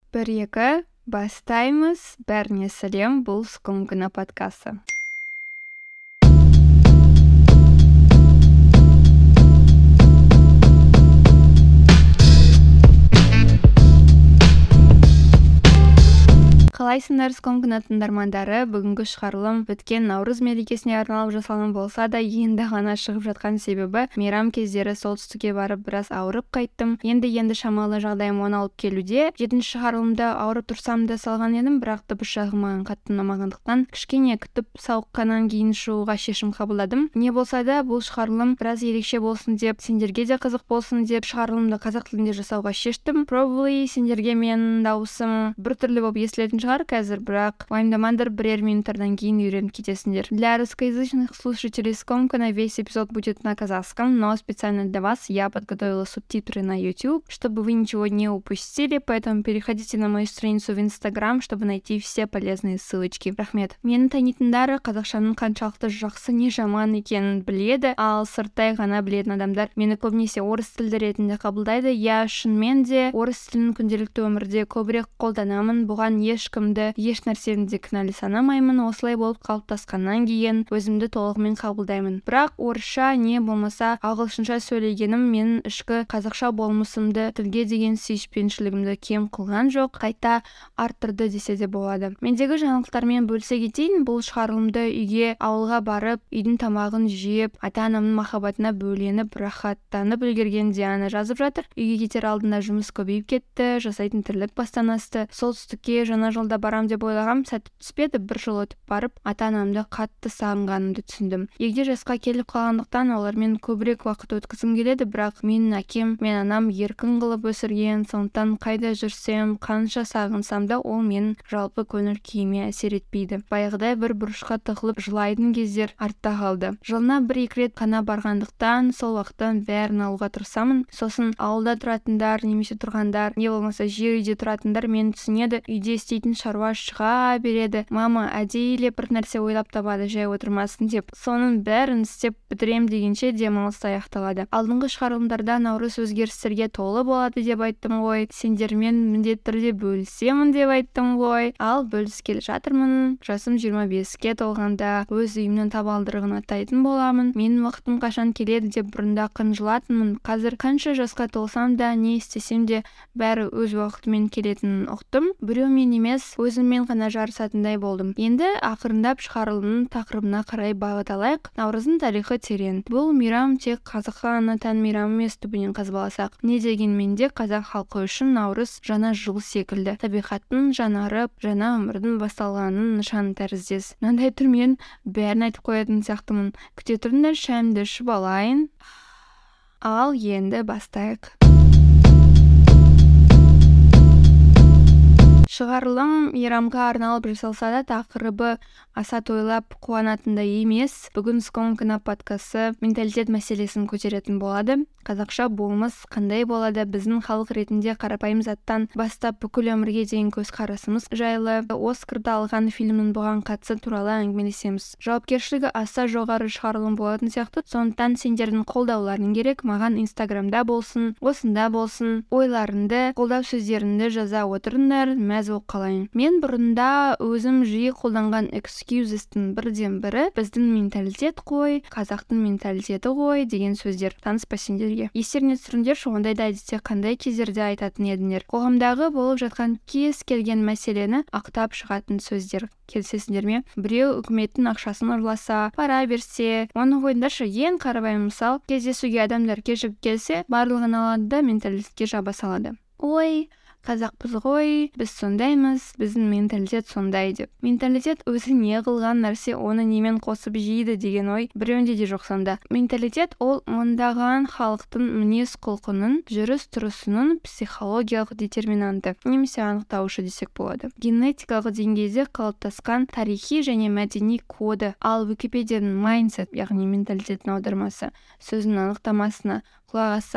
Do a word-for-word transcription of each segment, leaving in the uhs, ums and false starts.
бір екі бастаймыз. Бәріне сәлем, бұл Скомкина подкасты. Қалайсыңдар, Скомкина тыңдармандары? Бүгінгі шығарылым өткен Наурыз мерекесіне арналып жасалған болса да, енді ғана шығып жатқан себебі мейрам кездері солтүстікке барып біраз ауырып қайттым. Енді-енді шамалы жағдайым оңалып келуде. Жетінші шығарылымда ауырып тұрсам да салған едім, бірақ дыбыс жағы маған қатты ұнамағандықтан кішкене күтіп сауыққаннан кейін шығуға шешім қабылдадым. Не болса да, бұл шығарылым біраз ерекше болсын деп, сендерге де қызық болсын деп шығарылымды қазақ тілінде жасауға шештім. Probably сендерге менің дауысым біртүрлі болып естілетін шығар қазір, бірақ уайымдамаңдар, бірер минуттардан кейін үйреніп кетесіңдер. Для русскоязычных слушателей Скомкина весь эпизод будет на казахском, но специально для вас я подготовила субтитры на YouTube, чтобы вы ничего не упустили, поэтому переходите на мою страницу в Instagram, чтобы найти все полезные ссылочки. Рахмет. Мені танитындары қазақшаның қаншалықты жақсы не жаман екенін біледі, ал сырттай ғана білетін адамдар мені көбінесе орыс тілді ретінде қабылдайды. Я шынымен де орыс тілін күнделікті өмірде көбірек қолданамын, бұған ешкімді еш нәрсені де кінәлі санамаймын. Осылай болып қалыптасқаннан кейін өзімді толығымен қабылдаймын. Бірақ орысша не болмаса ағылшынша сөйлегенім менің ішкі қазақша болмысымды, тілге деген сүйіспеншілігімді кем қылған жоқ, қайта арттырды десе де болады. Мендегі жаңалықтармен бөлісе кетейін. Бұл шығарылымды үйге, ауылға барып, үйдің тамағын жеп, ата-анамның махаббатына бөленіп, рахаттанып үлгерген Диана жазып жатыр. Үйге кетер алдында жұмыс көбейіп кетті, жасайтын тірлік бастан асты. Солтүстікке жаңа жылда барам деп ойлағам, сәті түспеді. Бір жыл өтіп барып, ата-анамды қатты сағынғанымды түсіндім. Егде жасқа келіп қалғандықтан олармен көбірек уақыт өткізгім келеді, бірақ менің әкем мен анам еркін қылып өсірген, сондықтан қайда жүрсем, қанша сағынсам да ол менің жалпы көңіл күйіме әсер етпейді. Баяғыдай бір бұрышқа тығылып жылайтын кездер артта қалды. Жылына бір-екі рет қана барғандықтан сол уақыттан бәрін алуға тырысамын. Сосын ауылда тұратындар, немесе тұрғандар, не болмаса жер үйде тұратындар мені түсінеді. Үйде істейтін шаруа шыға береді. Мама әдейілеп бір нәрсе ойлап табады, жай отырмасын деп. Соның бәрін істеп бітірем дегенше демалыс аяқталады. Алдыңғы шығарылымдарда наурыз өзгерістерге толы болады деп айттым ғой. Сендермен міндетті түрде бөлісемін деп айттым ғой. Ал бөліскелі жатырмын. Жасым жиырма беске толғанда өз үйімнің табалдырығын аттайтын боламын. Менің уақытым қашан келеді деп бұрында қынжылатынмын. Қазір қанша жасқа толсам да, не істесем де бәрі өз уақытымен келетінін ұқтым. Біреумен емес, өзіммен ғана жарысатындай болдым. Енді ақырындап шығарылымның тақырыбына қарай бағыт алайық. Наурыздың тарихы терең. Бұл мейрам тек қазаққа ғана тән мейрам емес, түбінен қазбаласақ. Не дегенмен де қазақ халқы үшін наурыз жаңа жыл секілді. Табиғаттың жаңарып, жаңа өмірдің басталғанының нышаны тәріздес. Мынандай түрмен бәрін айтып қоятын сияқтымын. Күте тұрыңдар, шәйімді ішіп алайын. Ал енді бастайық. Шығарылым мейрамға арналып жасалса да, тақырыбы аса тойлап қуанатындай емес. Бүгін Скомкина подкасты менталитет мәселесін көтеретін болады. Қазақша болмыс қандай болады, біздің халық ретінде қарапайым заттан бастап бүкіл өмірге деген көзқарасымыз жайлы, Оскарды алған фильмнің бұған қатысы туралы әңгімелесеміз. Жауапкершілігі аса жоғары шығарылым болатын сияқты, сондықтан сендердің қолдауларың керек. Маған Инстаграмда болсын, осында болсын, ойларыңды, қолдау сөздеріңді жаза отырыңдар, мәз болып қалайын. Мен бұрында өзім жиі қолданған excuses'тің бірден бірі біздің менталитет қой, қазақтың менталитеті ғой деген сөздер. Таныспа сендерге. Естеріңе түсіріңдерші, ондайда әдетте қандай кездерде айтатын едіңдер. Қоғамдағы болып жатқан кез келген мәселені ақтап шығатын сөздер. Келісесіңдер ме? Біреу үкіметтің ақшасын ұрласа, пара берсе, оны қойыңдаршы. Ең қарапайым мысал, кездесуге адамдар кешігіп келсе, барлығын алады да менталитетке жаба салады. Ой, қазақпыз ғой, біз сондаймыз, біздің менталитет сондай деп. Менталитет өзі не қылған нәрсе, оны немен қосып жейді деген ой біреуінде де жоқ сонда. Менталитет ол мыңдаған халықтың мінез құлқының, жүріс тұрысының психологиялық детерминанты, немесе анықтаушы десек болады. Генетикалық деңгейде қалыптасқан тарихи және мәдени коды. Ал Википедияның mindset, яғни менталитеттің аудармасы сөзінің анықтамасына құлақ ассақ,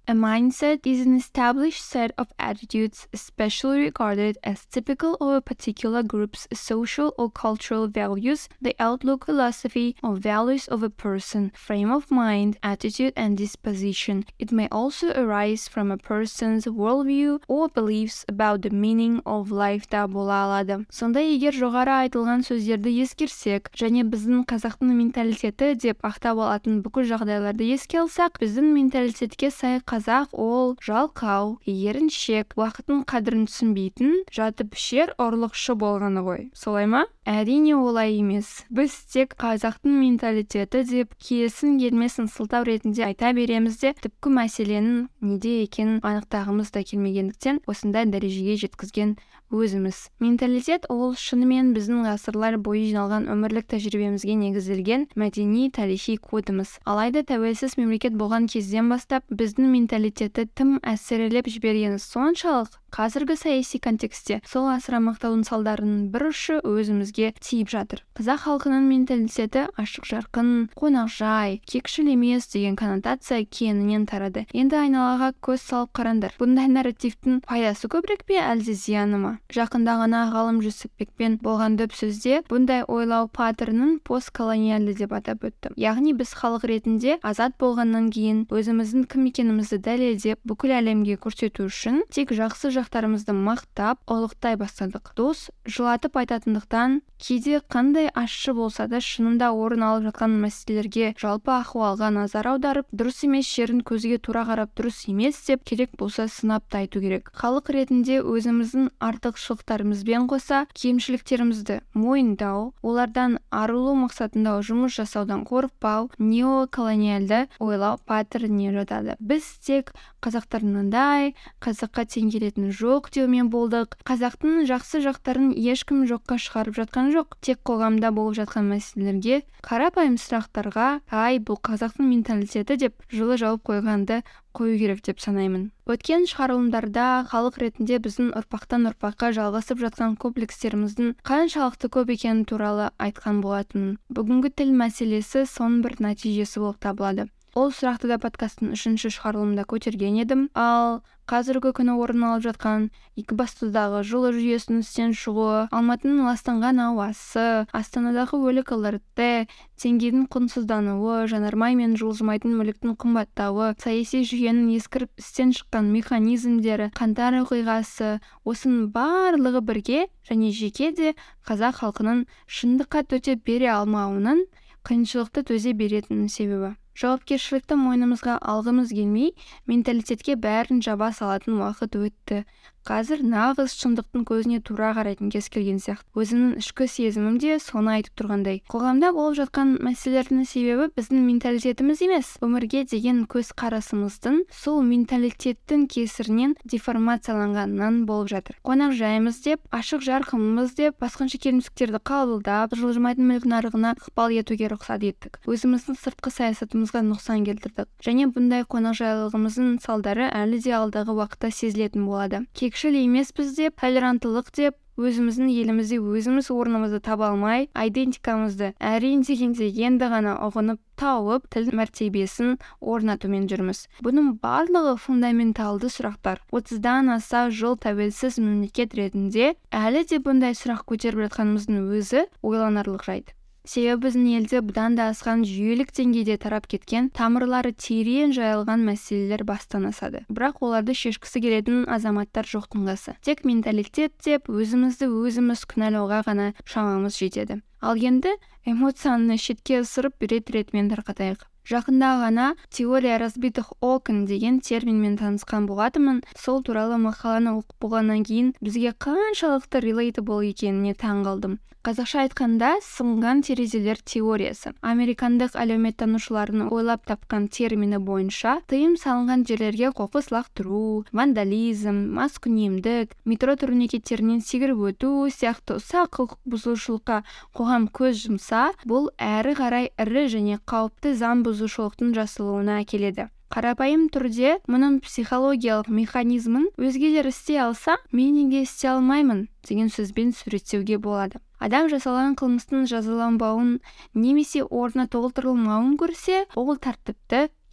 A mindset is an established set of attitudes especially regarded as typical of a particular group's social or cultural values, the outlook, philosophy, or values of a person, frame of mind, attitude, and disposition. It may also arise from a person's worldview or beliefs about the meaning of life та бола алады. Сонда егер жоғары айтылған сөздерді ескерсек, және біздің қазақтың менталитеті деп ақтап алатын бүкіл жағдайларды еске алсақ, біздің менталитетке сай қазақ ол жалқау, еріншек, уақыттың қадірін түсінбейтін, жатып ішер ұрлықшы болғаны ғой. Солай ма? Әрине олай емес. Біз тек қазақтың менталитеті деп келсін келмесін сылтау ретінде айта береміз де, түпкі мәселенің неде екенін анықтағымыз да келмегендіктен осындай дәрежеге жеткізген өзіміз. Менталитет ол шынымен біздің ғасырлар бойы жиналған өмірлік тәжірибемізге негізделген мәдени тарихи кодымыз. Алайда тәуелсіз мемлекет болған кезден бастап біздің менталитетті тым әсірелеп жібергені соншалық, қазіргі саяси контекстте сол асыра мақтаудың салдарының бір ұшы өзімізге тиіп жатыр. Қазақ халқының менталитеті ашық жарқын, қонақжай, кекшіл емес деген коннотация кеңінен тарады. Енді айналаға көз салып қараңдар. Бұндай нарративтің пайдасы көбірек пе, әлде зияны ма? Жақында ғана ғалым Жүсіпбекпен болған дөп сөзде бұндай ойлау паттернін постколониальды деп атап өтті. Яғни біз халық ретінде азат болғаннан кейін өзіміздің кім екенімізді дәлелдеп бүкіл әлемге көрсету үшін тек жақсы жақтарымызды мақтап, ұлықтай бастадық. Дос жылатып айтатындықтан кейде қандай ащы болса да шынында орын алып жатқан мәселелерге жалпы ахуалға назар аударып, дұрыс емес жерін көзге тура қарап, дұрыс емес деп керек болса сынап та айту керек. Халық ретінде өзіміздің артықшылықтарымызбен қоса кемшіліктерімізді мойындау, олардан арылу мақсатында жұмыс жасаудан қорықпау неоколониальды ойлау паттерніне жатады. Біз тек қазақтарындай, қазаққа тең келетін жоқ деумен болдық. Қазақтың жақсы жақтарын ешкім жоққа шығарып жатқан жоқ. Тек қоғамда болып жатқан мәселелерге, қарапайым сұрақтарға, ай, бұл қазақтың менталитеті деп жылы жауып қойғанды қою керек деп санаймын. Өткен шығарылымдарда халық ретінде біздің ұрпақтан ұрпаққа жалғасып жатқан комплекстеріміздің қаншалықты көп екені туралы айтқан болатын. Бүгінгі тіл мәселесі соның бір нәтижесі болып табылады. Ол сұрақты да подкасттың үшінші шығарылымында көтерген едім, ал қазіргі күні орын алып жатқан Екібастұздағы жылу жүйесінің істен шығуы, Алматының ластанған ауасы, Астанадағы өлік ЛРТ, теңгенің құнсыздануы, жанармай мен жылжымайтын мүліктің қымбаттауы, саяси жүйенің ескіріп істен шыққан механизмдері, қаңтар оқиғасы, осының барлығы бірге және жеке де қазақ халқының шындыққа төтеп бере алмауының қиыншылықты төзе беретінінің себебі. Жауапкершілікті мойнымызға алғымыз келмей, менталитетке бәрін жаба салатын уақыт өтті. Қазір нағыз шындықтың көзіне тура қарайтын кез келген сияқты. Өзімнің ішкі сезімім де соны айтып тұрғандай. Қоғамда болып жатқан мәселелердің себебі біздің менталитетіміз емес, өмірге деген көз қарасымыздың сол менталитеттің кесірінен деформацияланғанынан болып жатыр. Қонақ жайымыз деп, ашық жарқымыз деп, басқыншы келімсектерді қабылдап, жылжымайтын мүлік нарығына ықпал етуге рұқсат еттік. Өзіміздің сыртқы саясатымызға нұқсан келтірдік. Және бұндай қонақжайлылығымыздың салдары әлі де алдағы уақытта сезілетін болады. Кекшіл емеспіз деп, толеранттылық деп, өзіміздің елімізде өзіміз орнымызды таба алмай, идентикамызды әрең дегенде енді ғана ұғынып тауып, тіл мәртебесін орнатумен жүрміз. Бұның барлығы фундаменталды сұрақтар. отыздан аса жыл тәуелсіз мемлекет ретінде әлі де бұндай сұрақ көтеріп жатқанымыздың өзі ойланарлық жайт. Себебі біздің елде бұдан да асқан жүйелік деңгейде тарап кеткен, тамырлары терең жайылған мәселелер бастан асады. Бірақ оларды шешкісі келетін азаматтар жоқтың қасы. Тек менталитет деп өзімізді өзіміз күнәлауға ғана шамамыз жетеді. Ал енді эмоцияны шетке ысырып рет-ретмен тарқатайық. Жақында ғана теория разбитых окон деген терминмен танысқан болатынмын. Сол туралы мақаланы оқып болғаннан кейін бізге қаншалықты relatable екеніне таң қалдым. Қазақша айтқанда сынған терезелер теориясы. Американдық әлеуметтанушылардың ойлап тапқан термині бойынша тыйым салынған жерлерге қоқыс лақтыру, вандализм, маскүнемдік, метро турникеттерінен секіріп өту сияқты ұсақ құқық бұзушылыққа қоғам көз жұмса, бұл әрі қарай ірі және қауіпті заң бұзушылықтың жасалуына әкеледі. Қарапайым түрде мұның психологиялық механизмін өзгелер істей алса, мен неге істей алмаймын деген сөзбен суреттеуге болады. Адам жасалған қылмыстың жазаланбауын немесе орнына толтырылмауын көрсе, ол тәртіпті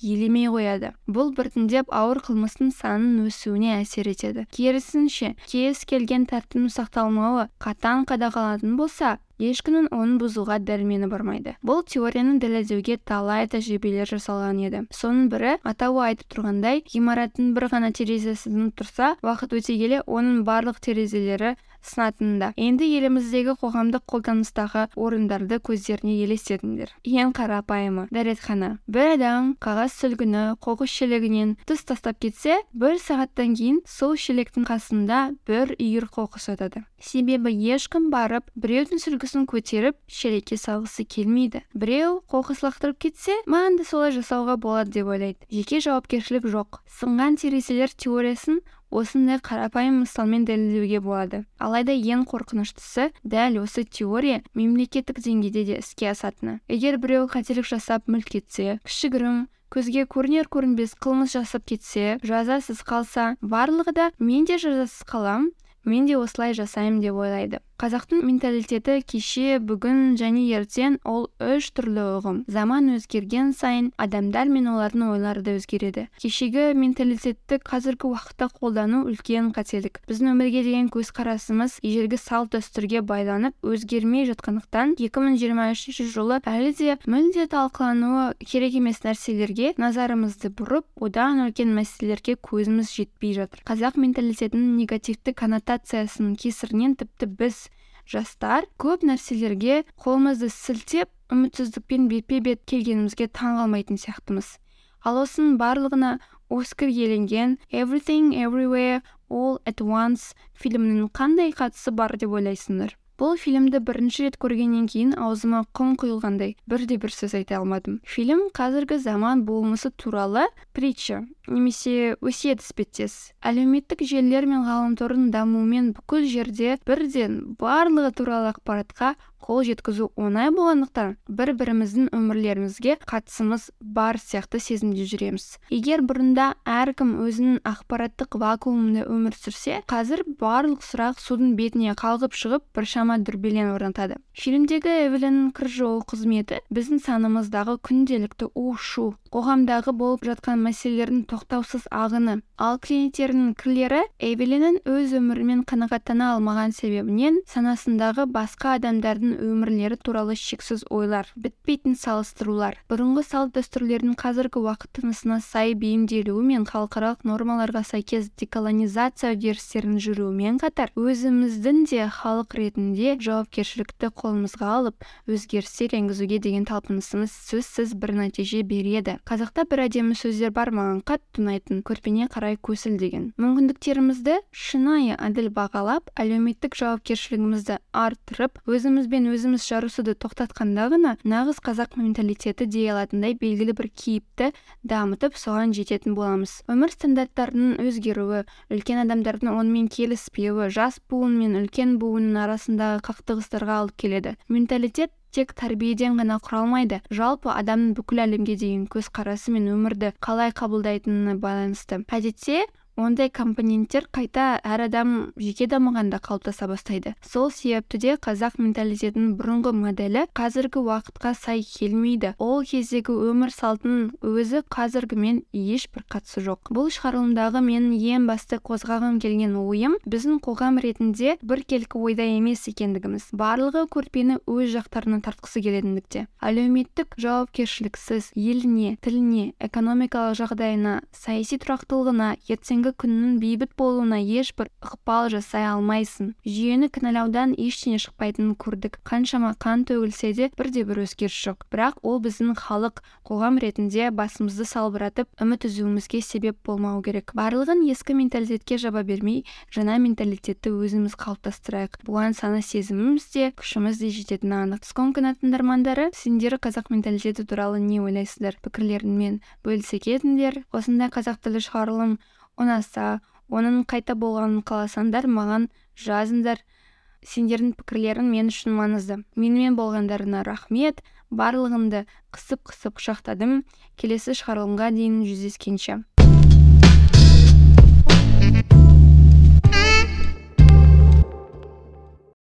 елемей қояды. Бұл біртіндеп ауыр қылмыстың санының өсуіне әсер етеді. Керісінше, кез келген тәртіптің сақталмауы қатаң қадағаланатын болса, ешкімнің оның бұзуға дәрмені бармайды. Бұл теорияны дәлелдеуге талай тәжірибелер жасалған еді. Соның бірі, атауы айтып тұрғандай, ғимараттың бір ғана терезесінің тұрса, уақыт өте келе оның барлық терезелері сынатынында. Енді еліміздегі қоғамдық қолданыстағы орындарды көздеріне елестетіңдер. Ең қарапайымы дәретхана. Бір адам қағаз сүлгіні қоқыс шелекінен тыс тастап кетсе, бір сағаттан кейін сол шелектің қасында бір үйір қоқыс жатады. Себебі ешкім барып, біреудің сүлгісін көтеріп, шелекке салғысы келмейді. Біреу қоқыс лақтырып кетсе, маған да солай жасауға болады деп ойлайды. Жеке жауапкершілік жоқ. Сынған терезелер теориясын осындай қарапайым мысалмен дәлелдеуге болады. Алайда ең қорқыныштысы, дәл осы теория мемлекеттік деңгейде де іске асатыны. Егер біреу қателік жасап мүлт кетсе, кішігірім көзге көрінер-көрінбес қылмыс жасап кетсе, жазасыз қалса, барлығы да мен де жазасыз қалам, мен де осылай жасаймын деп ойлайды. Қазақтың менталитеті кеше, бүгін және ертең ол үш түрлі ұғым. Заман өзгерген сайын адамдар мен олардың ойлары да өзгереді. Кешегі менталитетті қазіргі уақытта қолдану үлкен қателік. Біздің өмірге деген көзқарасымыз ежелгі салт дәстүрге байланып өзгермей жатқандықтан екі мың жиырма үшінші жылы әлі де мүлде талқылануы керек емес нәрселерге назарымызды бұрып, одан үлкен мәселелерге көзіміз жетпей жатыр. Қазақ менталитетінің негативті коннотациясының кесірінен тіпті біз жастар көп нәрселерге қолымызды сілтеп, үмітсіздікпен бетпе-бет келгенімізге таң қалмайтын сияқтымыз. Ал осының барлығына Оскар иеленген Everything Everywhere All at Once фильмінің қандай қатысы бар деп ойлайсыңдар? Бұл фильмді бірінші рет көргеннен кейін аузыма құм құйылғандай бірде-бір сөз айта алмадым. Фильм қазіргі заман болмысы туралы притча немесе өсиет іспеттес. Әлеуметтік желілер мен ғаламтордың дамуымен бүкіл жерде бірден барлығы туралы ақпаратқа қол жеткізу оңай болғандықтан бір-біріміздің өмірлерімізге қатысымыз бар сияқты сезімде жүреміз. Егер бұрында әркім өзінің ақпараттық вакуумында өмір сүрсе, қазір барлық сұрақ судың бетіне қалғып шығып, біршама дүрбелең орнатады. Фильмдегі Эвелиннің кір жуу қызметі біздің санамыздағы күнделікті у-шу, қоғамдағы болып жатқан мәселелердің тоқтаусыз ағыны. Ал клиенттерінің кірлері Эвелиннің өз өмірімен қанағаттана алмаған себебінен санасындағы басқа адамдардың өмірлері туралы шексіз ойлар, бітпейтін салыстырулар, бұрынғы салт дәстүрлердің қазіргі уақыт тынысына сай бейімделуі мен халықаралық нормаларға сәйкес деколонизация үдерістерін жүруімен қатар, өзіміздің де халық ретінде жауапкершілікті қолымызға алып, өзгерістер енгізуге деген талпынысымыз сөзсіз бір нәтиже береді. Қазақта бір әдемі сөздер бар, маған қатты ұнайтын, көрпене қарай көсіл деген. Мүмкіндіктерімізді шынайы әділ бағалап, әлеуметтік жауапкершілігімізді арттырып, өзімізбен өзіміз жарысуды тоқтатқанда ғана нағыз қазақ менталитеті дей алатындай белгілі бір кейіпті дамытып, соған жететін боламыз. Өмір стандарттарының өзгеруі, үлкен адамдардың онымен келіспеуі, жас буын мен үлкен буынның арасындағы қақтығыстарға алып келеді. Менталитет тек тәрбиеден ғана құралмайды, жалпы адамның бүкіл әлемге деген көзқарасы мен өмірді қалай қабылдайтынына байланысты. Әдетте ондай компоненттер қайта әр адам жеке дамығанда қалыптаса бастайды. Сол себепті де қазақ менталитетінің бұрынғы моделі қазіргі уақытқа сай келмейді. Ол кездегі өмір салтының өзі қазіргімен ешбір қатысы жоқ. Бұл шығарылымдағы менің ең басты қозғағым келген ойым, біздің қоғам ретінде біркелкі ойда емес екендігіміз. Барлығы көрпені өз жақтарына тартқысы келетіндікте. Әлеуметтік жауапкершіліксіз еліне, тіліне, экономикалық жағдайына, саяси тұрақтылығына, ертең күннің бейбіт болуына ешбір ықпал жасай алмайсың. Жүйені кінәлаудан ештеңе шықпайтынын көрдік. Қаншама қан төгілсе де бірде-бір өзгеріс жоқ. Бірақ ол біздің халық, қоғам ретінде басымызды салбыратып, үміт үзуімізге себеп болмау керек. Барлығын ескі менталитетке жаба бермей, жаңа менталитетті өзіміз қалыптастырайық. Бұған сана сезіміміз де, күшіміз де жететіні анық. Сконкина тыңдармандары, сендер қазақ менталитеті туралы не ойлайсыздар? Пікірлеріңмен бөлісе кетіңдер. Осындай қазақ тілі шығарылым ұнаса, оның қайта болғанын қаласаңдар, маған жазыңдар. Сендердің пікірлерің мен үшін маңызды. Менімен болғандарына рахмет. Барлығымды қысып-қысып құшақтадым. Келесі шығарылымға дейін жүздескенше.